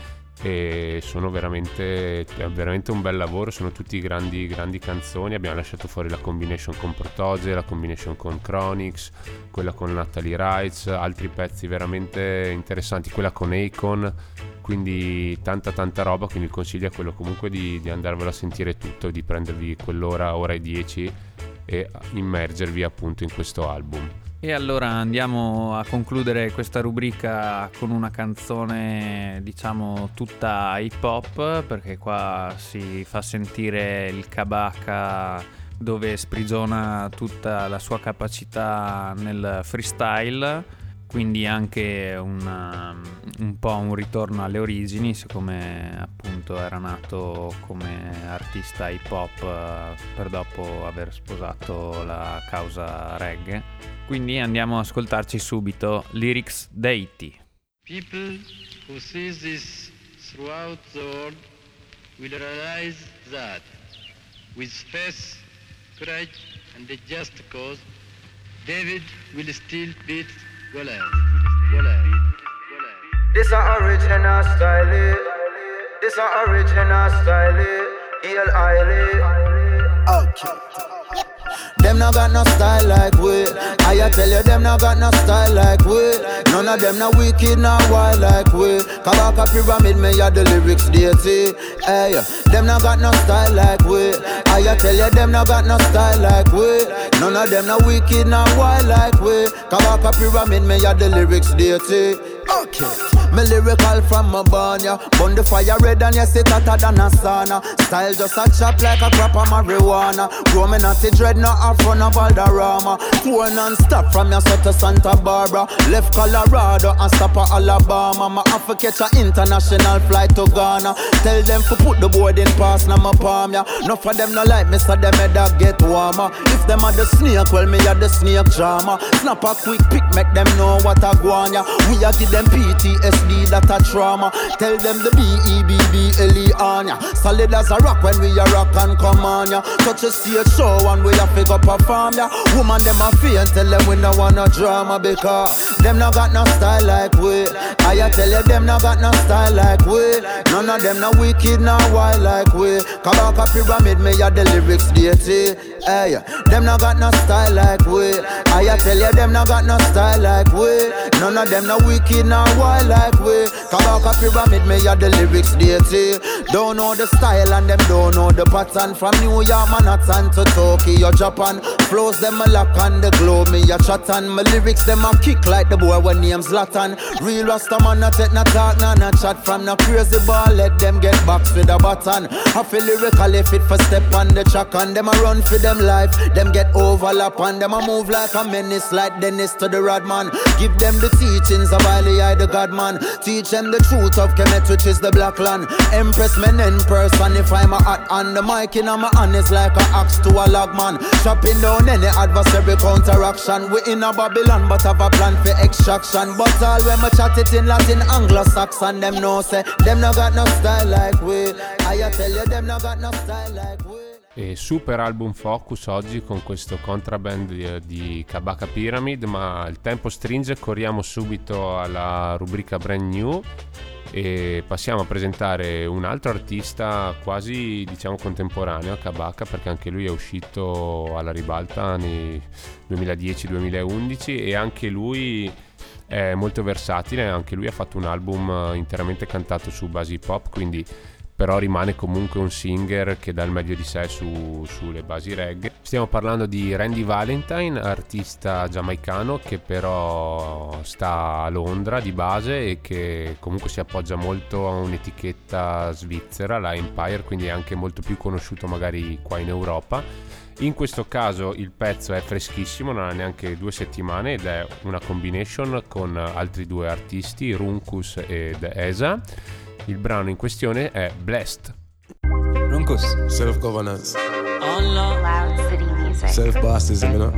e sono veramente, è veramente un bel lavoro, sono tutti grandi grandi canzoni. Abbiamo lasciato fuori la combination con Protoje, la combination con Chronix, quella con Natalie Wrights, altri pezzi veramente interessanti, quella con Akon, quindi tanta tanta roba. Quindi il consiglio è quello comunque di, di andarvelo a sentire tutto, di prendervi quell'ora, ora e dieci e immergervi appunto in questo album. E allora andiamo a concludere questa rubrica con una canzone diciamo tutta hip hop, perché qua si fa sentire il Kabaka dove sprigiona tutta la sua capacità nel freestyle. quindi anche una, un po' un ritorno alle origini, siccome appunto era nato come artista hip hop per dopo aver sposato la causa reggae. Quindi andiamo ad ascoltarci subito Lyrics Deity. People who see this throughout the world will realize that with faith, courage and a just cause, David will still beat Goliath. Goliath. Goliath. This a original style. This a original style. Hail highly. Okay. Them no got no style like we. I tell you, them no got no style like we. None of them no wicked, no wild like we. Kabaka pyramid, me ya the lyrics deity. Hey, them no got no style like we. I tell you, them no got no style like we. None of them no wicked, no wild like we. Kabaka pyramid, me ya the lyrics deity. Okay. Me lyrical from my barn, yeah. Burn the fire red and you sit hotter than a sauna. Style just a chop like a crop of marijuana. Grow me not a dread, not a front of Valderrama. Tour non-stop from your to Santa Barbara. Left Colorado and stop at Alabama. Ma have to catch a international flight to Ghana. Tell them to put the boarding pass na my palm, yeah. Enough of them no like me, so them head up get warmer. If them are the snake, well me are the snake drama. Snap a quick pick, make them know what I want, yeah. We a give them P T S D, that a trauma. Tell them the B E B B L E on ya. Solid as a rock when we a rock and come on ya. Touch a stage show and we a pick up a farm ya. Woman them a fee and tell them we no want no drama, because them no got no style like we. I a tell you them no got no style like we. None of them no wicked, no wild like we. Kabaka pyramid, me a the lyrics deity. Hey, them no got no style like we. I a tell you them no got no style like we. None of them no wicked, no wild like we. Kabaka pyramid, me a the lyrics deity. Don't know the style and them don't know the pattern. From New York, Manhattan to Tokyo, Japan. Flows them a lock on the globe, me a chat on. My lyrics them a kick like the boy when name's Zlatan. Real Rasta man not take no talk, no no chat. From no crazy ball, let them get boxed with a button. I feel lyrically fit for step on the track. And them a run for them life, them get overlap. And them a move like a menace, like Dennis to the Rodman. Give them the teachings of Ali, I the God man. Teach them the truth of Kemet, which is the black land. Empress men in person, if I'm a hot on the mic in my hand is like a axe to a log man. Chopping down any adversary counteraction. We in a Babylon but have a plan for extraction. But all when me chat it in Latin, Anglo-Saxon, them know say them no got no style like we. I tell you them no got no style like we. E super album focus oggi con questo contraband di, di Kabaka Pyramid, ma il tempo stringe, corriamo subito alla rubrica Brand New e passiamo a presentare un altro artista quasi diciamo contemporaneo a Kabaka, perché anche lui è uscito alla ribalta nei duemiladieci duemilaundici e anche lui è molto versatile. Anche lui ha fatto un album interamente cantato su basi hip hop, quindi però rimane comunque un singer che dà il meglio di sé su, sulle basi reggae. Stiamo parlando di Randy Valentine, artista giamaicano che però sta a Londra di base e che comunque si appoggia molto a un'etichetta svizzera, la Empire, quindi è anche molto più conosciuto magari qua in Europa. In questo caso il pezzo è freschissimo, non ha neanche due settimane ed è una combination con altri due artisti, Runkus ed Esa. Il brano in questione è Blessed. Runkus, self-governance. Loud city music. Self-bossism, you know?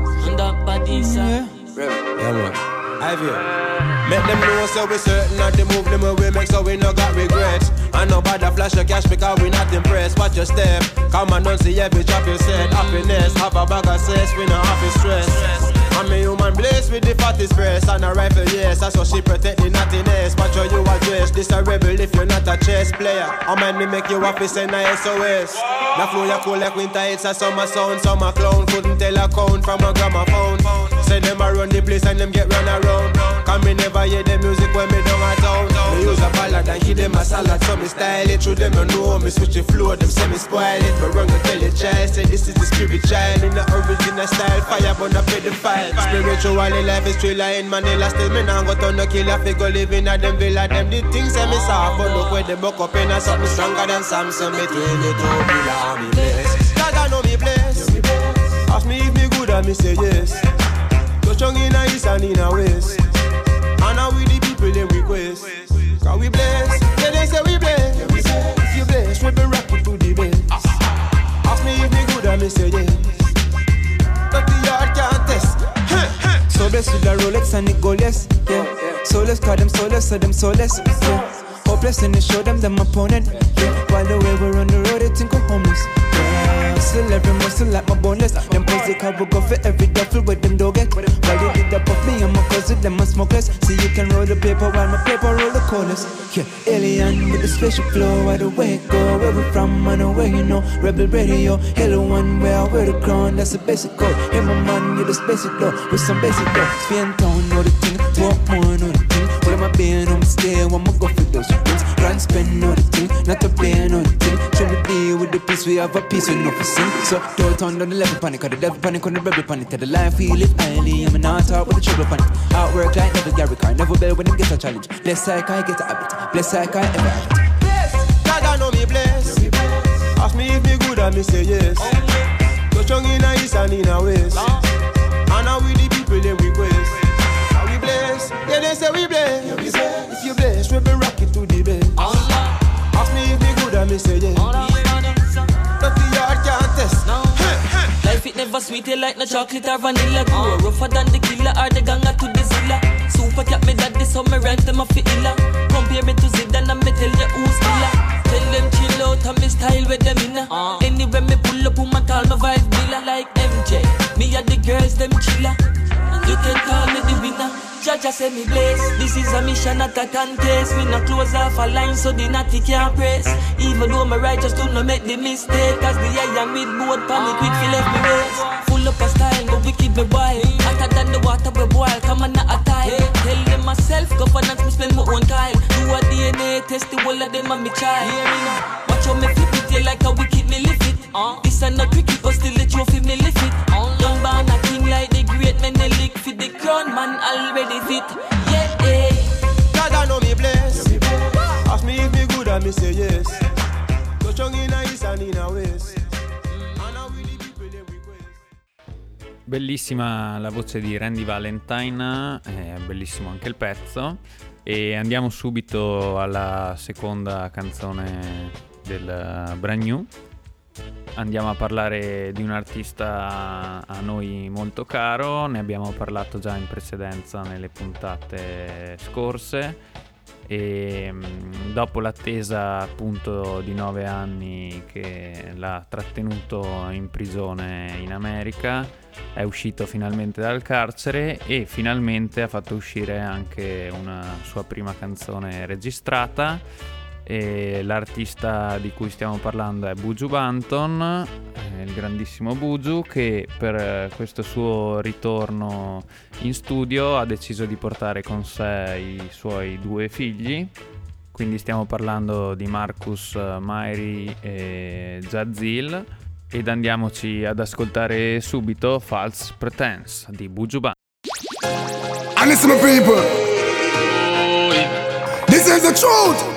Yeah. Yeah, man. I've here. Make them know so we certain of the move them we make so we no got regrets. I know about the flash of cash because we not impressed. Watch your step. Come and don't see every drop you said. Happiness, have a bag of cess, we no have to stress. I'm a human blessed with the fattest breast and a rifle, yes, that's what she protect the nothingness. Watch how you address, this a rebel if you're not a chess player. I mind me make you happy, send a S O S. The flow you cool like winter, it's a summer sound. Summer clown, couldn't tell a count from a gramophone. Say them a run the place and them get run around. Come me never hear the music when me down a town. Me use a ballad and give them a salad, so me style it. Through them you know me switch the flow, them say me spoil it. But run go tell your child, say this is the spirit child. In the original style, fire burn up with the fire. Spiritually life is thriller in Manila. Still me nah go turn no killer. Figure living at them villa. Them the things say me soft, but look where they buck up in a something stronger than Samson. Me tell you to be like me blessed. God I know me blessed. Ask me if me good and me say yes. So strong in a east and in a west. people they request. Cause we bless, yeah they say we bless. If you bless, we be rocking to the best. Ask me if me good, I me say yes. But the yard can't test. So blessed with the Rolex and it go less, yeah. Soulless, call them soulless, so them soulless, yeah. Hopeless and they show them them opponent, yeah. While the way we're on the road, they think I'm homeless, yeah. Still every muscle like my boneless. Them pussy car will go for every duffel with them dog get. While they did that puff me and my cousin, them a smokeless. See you can roll the paper while my paper roll the coldest. Yeah, alien with the special flow, why the way it go, where we from and where you know. Rebel radio, hello one, where I wear the crown, that's a basic code. Hey my man, you the basic flow, with some basic flow. Spin town, know the thing, walk more, know the thing. What am I being on the stair, I'ma go for those things. Run, spend, know the thing, not to play, know the thing. Show me deal with the peace, we have a peace with no for sin. So don't turn down the level panic, cause the devil panic on the rebel panic. Tell the life we live highly, I'm not talk with the trouble panic. Outwork like never Gary Car, never bell when them get a challenge. Bless like I get a habit, bless like I ever have it. Bless, God I know me bless. Ask me if me good, I me say yes. So strong in a east and in a west. And now we the people they request. Are we bless? Yeah they say we bless. If you bless, we be rocking to the best. Ask me if me good, I me say yes. But the yard can't test. Life it never sweet, you like no chocolate or vanilla. Grow rougher than the killer or the ganga to the zilla. Super cat me daddy, so me rent them off the illa. Compare me to Zidane and me tell you who's killer. Tell them chill out and me style with them inna. uh. Anywhere me pull up, woman call me vice villa. Like M J, me and the girls them chilla. You can call me the winner. Jaja say me bless. This is a mission, not a contest. We not close off a line so the natty can't press. Even though my righteous do not make the mistake. Cause the iron with board panic quick fi left me race. Full up a style, but we keep me wild. Hotter than the water we boil, come on not a tile. Tell them myself, governance me spend my own Kyle. Do a D N A test, the whole of them and me child. Watch how me flip it, you like how we keep me lift it. uh. This and not cricket, but still the trophy me lift it. uh. Young born a king like the great men, they lick for the crown, man already fit. Yeah, yeah. God I know me bless. Ask me if me good, I me say yes. So strong in a east and in a west. And now we the people they request. Bellissima la voce di Randy Valentine, è bellissimo anche il pezzo. E andiamo subito alla seconda canzone del brand new. Andiamo a parlare di un artista a noi molto caro, ne abbiamo parlato già in precedenza nelle puntate scorse e dopo l'attesa appunto di nove anni che l'ha trattenuto in prigione in America, è uscito finalmente dal carcere e finalmente ha fatto uscire anche una sua prima canzone registrata. E l'artista di cui stiamo parlando è Buju Banton, eh, il grandissimo Buju, che per questo suo ritorno in studio ha deciso di portare con sé i suoi due figli. Quindi stiamo parlando di Marcus Myrie e Jazeel, ed andiamoci ad ascoltare subito False Pretense di Buju Banton. And listen, my people, this is the truth.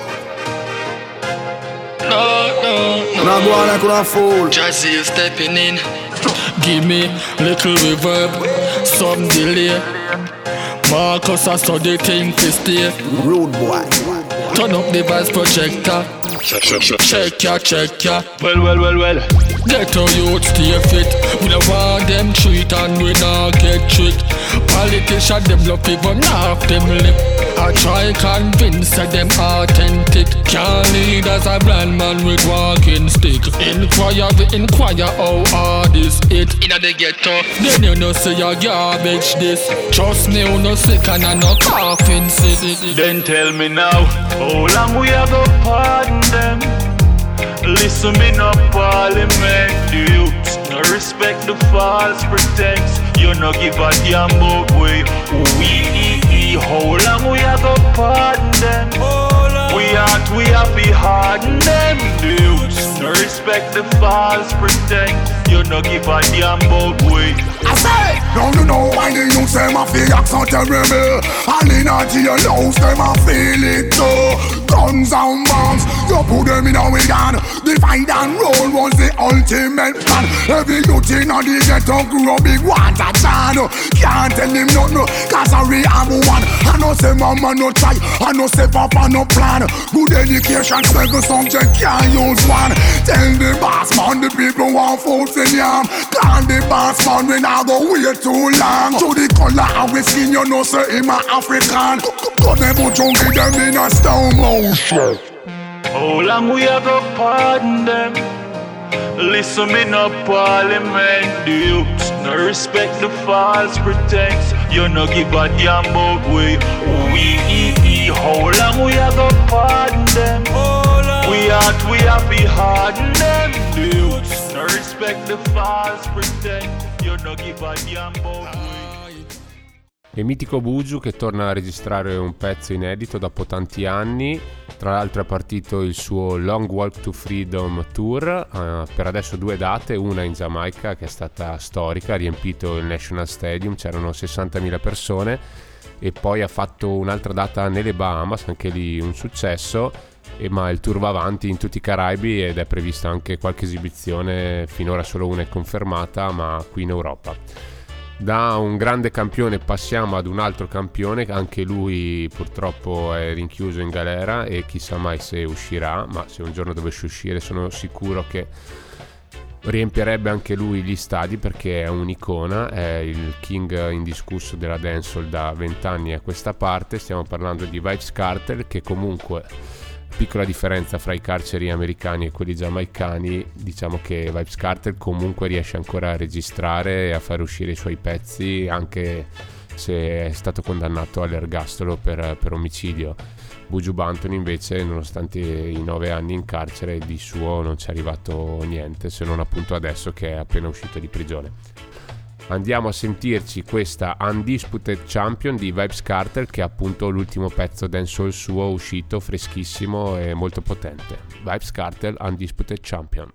No, no, no. Now go on like a fool. Jazzy stepping in. Give me little reverb, some delay. Marcus, I saw the thing to stay. Rude boy. Turn up the voice projector. Check, check, check, check ya, check ya. Well, well, well, well. Get our youth stay fit. We don't want them treat and we not get tricked. Politicians them love people, not them lip. I try convince that them authentic. Can't lead as a blind man with walking stick. Inquire, we inquire how hard is it. Inna the ghetto, then you know say your garbage this. Trust me, you no sick and I no coughing sick. Then tell me now, how long we a go pardon them? Listen me no parliament, the youths no respect the false pretense. You no give a damn about way we. How long we a go pardon them? We aren't, we have to harden them. The youths no respect the false pretense. You no give a damn about way. I say, don't you know why the youths them a feel act so terrible? And in a jailhouse them a feel it too. guns and bombs. You put them in our gun. Divide and roll was the ultimate plan. Every youth in the ghetto grew up big one to channel. Can't tell him nothing, cause I really have one. I know say mama no try, I know say papa no plan. Good education, second subject can't use one. Tell the boss man the people want food in yam. Call the boss man when I go wait too long. To the color of we skin you know say him a African. Got them out junkie them in a stone motion. How long we a go pardon them? Listen me no parliament. The youths no respect the false pretense. You no give a damn about we. We how long we a go pardon them? We out we a be harden them. The youths no respect the false pretense. You no give a damn about we. E mitico Buju che torna a registrare un pezzo inedito dopo tanti anni. Tra l'altro è partito il suo Long Walk to Freedom Tour, uh, per adesso due date, una in Giamaica che è stata storica, ha riempito il National Stadium, c'erano sessantamila persone, e poi ha fatto un'altra data nelle Bahamas, anche lì un successo, e, ma il tour va avanti in tutti i Caraibi ed è prevista anche qualche esibizione, finora solo una è confermata, ma qui in Europa. Da un grande campione passiamo ad un altro campione, anche lui purtroppo è rinchiuso in galera e chissà mai se uscirà, ma se un giorno dovesse uscire sono sicuro che riempierebbe anche lui gli stadi perché è un'icona, è il king indiscusso della dancehall da vent'anni a questa parte. Stiamo parlando di Vybz Kartel, che comunque, piccola differenza fra i carceri americani e quelli giamaicani, diciamo che Vybz Kartel comunque riesce ancora a registrare e a fare uscire i suoi pezzi anche se è stato condannato all'ergastolo per, per omicidio. Buju Banton invece, nonostante i nove anni in carcere, di suo non ci è arrivato niente, se non appunto adesso che è appena uscito di prigione. Andiamo a sentirci questa Undisputed Champion di Vybz Kartel, che è appunto l'ultimo pezzo dancehall suo uscito, freschissimo e molto potente. Vybz Kartel, Undisputed Champion.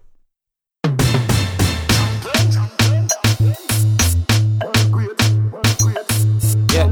Yeah.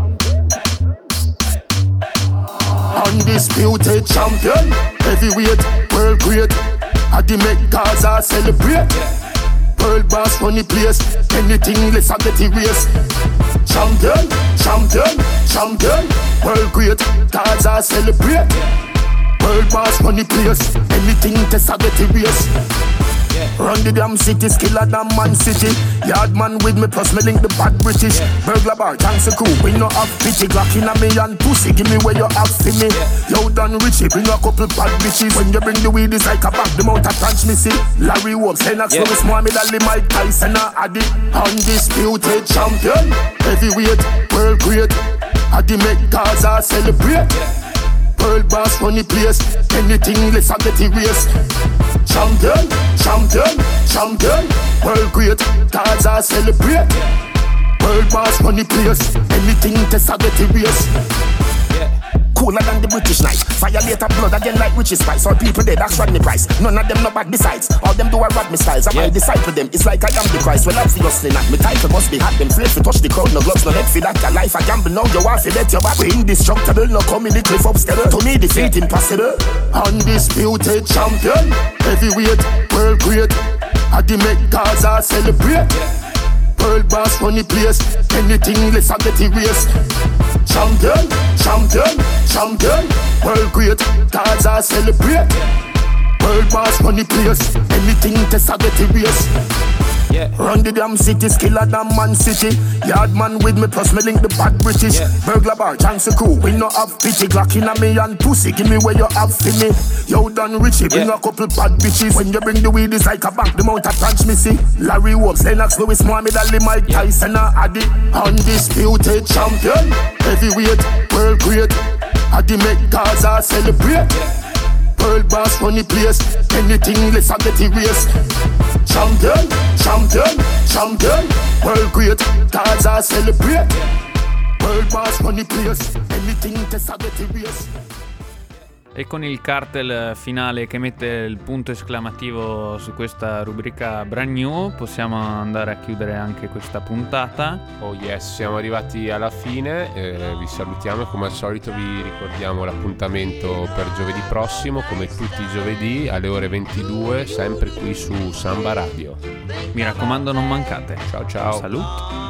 Undisputed champion, heavyweight, world great. I the make Gaza celebrate. World boss run the place. Anything less I get erased. Champion, champion, champion. World great, Gaza celebrate. World boss run the place. Anything less I get erased. Run the damn city, skill a damn man city. Yard man with me plus me link the bad British. Burglar bar, gangster crew, we no have pity. Glock in a me and pussy, give me where you have for me. Yo done Richie, bring a couple bad bitches. When you bring the weed, it's like a bag, the mount of transmissy. Larry Holmes, Lennox, yeah. Lewis, Mohamed Ali, Mike Tyson, a Addy. Undisputed champion, heavyweight, world great. Addy make Gaza celebrate. World boss run the place. Anything less I get erased. Champion, champion, champion. World great, Gaza celebrate. World boss run the place. Anything less I get erased. Cooler than the British knife. Violate blood again like witches spice. All people dead, that's Rodney Price. None of them no bad besides. All them do are rap me styles. I might disciple them. It's like I am the Christ. Well, obviously not. Me title must be hot. Them slave to touch the crowd. No gloves, no head for that. Your life a gamble. Now you want to let your back. We indestructible. No come in the cliff upstairs. To me defeat impossible. Undisputed champion. Heavyweight, world great. I the make Gaza celebrate. World boss run the place. Anything less I get erased. Champion, champion, champion. World great, Gaza celebrate. World boss run the place. Anything test I get erased. Yeah. Run the damn city, skill a damn man city. Yard man with me plus me link the bad British. Yeah. Burglar bar, gangster crew, we no have pity. Glock in a me and pussy, give me where you have for me. Yo done Richie, bring yeah. a couple bad bitches. When you bring the weed, it's like a bank, the mount of transmissy. Larry Holmes, Lennox, Lewis, Mohamed Ali, Mike yeah. Tyson, a Addy. Undisputed champion, heavyweight, world great. Addy make Gaza celebrate. World boss run the place. Anything less I get erased. Champion, champion, champion. World great, Gaza celebrate. World boss run the place. Anything less I get erased. E con il cartel finale che mette il punto esclamativo su questa rubrica brand new possiamo andare a chiudere anche questa puntata. Oh yes, siamo arrivati alla fine, eh, vi salutiamo e come al solito vi ricordiamo l'appuntamento per giovedì prossimo, come tutti i giovedì alle ore ventidue, sempre qui su Samba Radio. Mi raccomando, non mancate. Ciao ciao. Salut.